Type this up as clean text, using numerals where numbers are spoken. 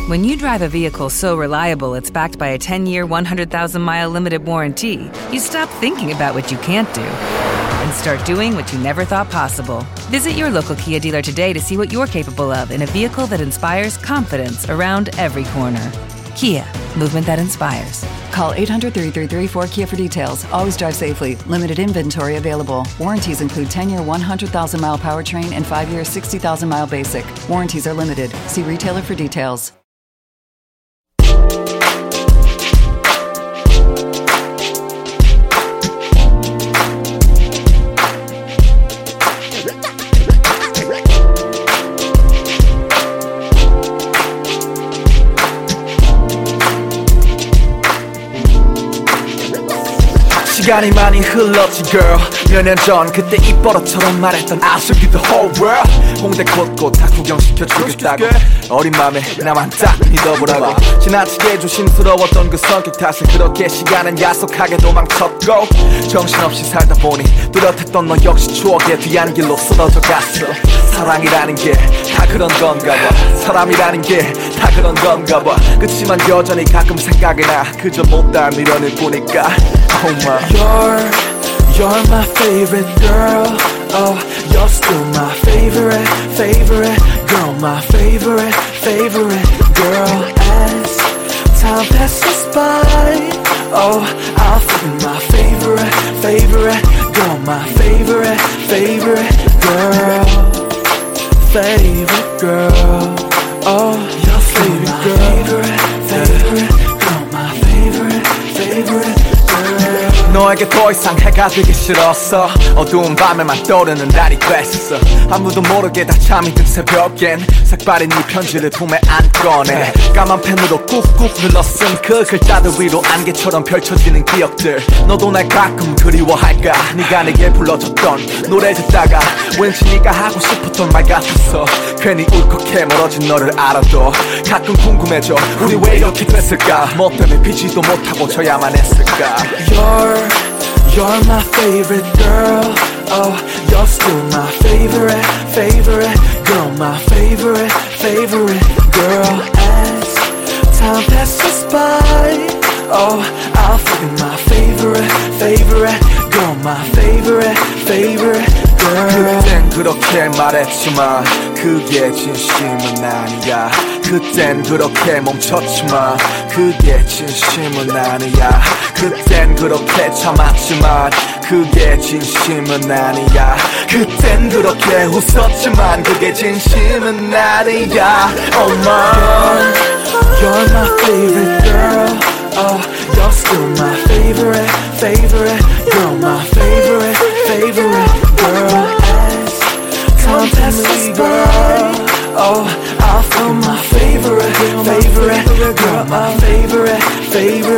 When you drive a vehicle so reliable it's backed by a 10-year, 100,000-mile limited warranty, you stop thinking about what you can't do and start doing what you never thought possible. Visit your local Kia dealer today to see what you're capable of in a vehicle that inspires confidence around every corner. Kia, movement that inspires. Call 800-333-4KIA for details. Always drive safely. Limited inventory available. Warranties include 10-year 100,000-mile powertrain and 5-year 60,000-mile basic. Warranties are limited. See retailer for details. 시간이 많이 흘렀지 girl 몇 년 전 그때 입버릇처럼 말했던 I should give the whole world 홍대 곳곳 다 구경시켜주겠다고 어린 맘에 나만 딱 믿어보라고 지나치게 조심스러웠던 그 성격 탓에 그렇게 시간은 야속하게 도망쳤고 정신없이 살다 보니 뚜렷했던 너 역시 추억의 뒤안길로 쓰러져 갔어 사랑이라는 게 다 그런 건가 봐 사람이라는 게 다 그런 건가 봐 그치만 여전히 가끔 생각이 나 그저 못다 미련일 뿐이니까 Oh my You're my favorite girl Oh, you're still my favorite girl My favorite girl As time passes by Oh, I'll find my favorite girl My favorite girl Favorite girl Oh, your favorite girl Favorite girl My favorite girl 너에게 더 이상 해가 되기 싫었어 어두운 밤에만 떠오르는 날이 됐어 아무도 모르게 다 잠이 든 새벽엔 색바랜 이 편지를 품에 안꺼내 까만 펜으로 꾹꾹 눌러 쓴 그 글자들 위로 안개처럼 펼쳐지는 기억들 너도 날 가끔 그리워할까 네가 내게 불러줬던 노래 듣다가 왠지 네가 하고 싶었던 말 같았어 괜히 울컥해 멀어진 너를 알아도 가끔 궁금해져 우리 왜 이렇게 됐을까 뭐 때문에 비지도 못하고 져야만 했을까 You're my favorite girl Oh, you're still my favorite girl My favorite girl As time passes by Oh, I'll find my favorite girl My favorite girl 그땐 그렇게 말했지만 그게 진심은 아니야 그땐 그렇게 멈췄지만 그게 진심은 아니야 그땐 그렇게 참았지만 그게 진심은 아니야 그땐 그렇게 웃었지만 그게 진심은 아니야 Oh my You're my favorite girl Oh, you're still my favorite girl My favorite girl As time passes by Oh, I'll find my favorite girl My favorite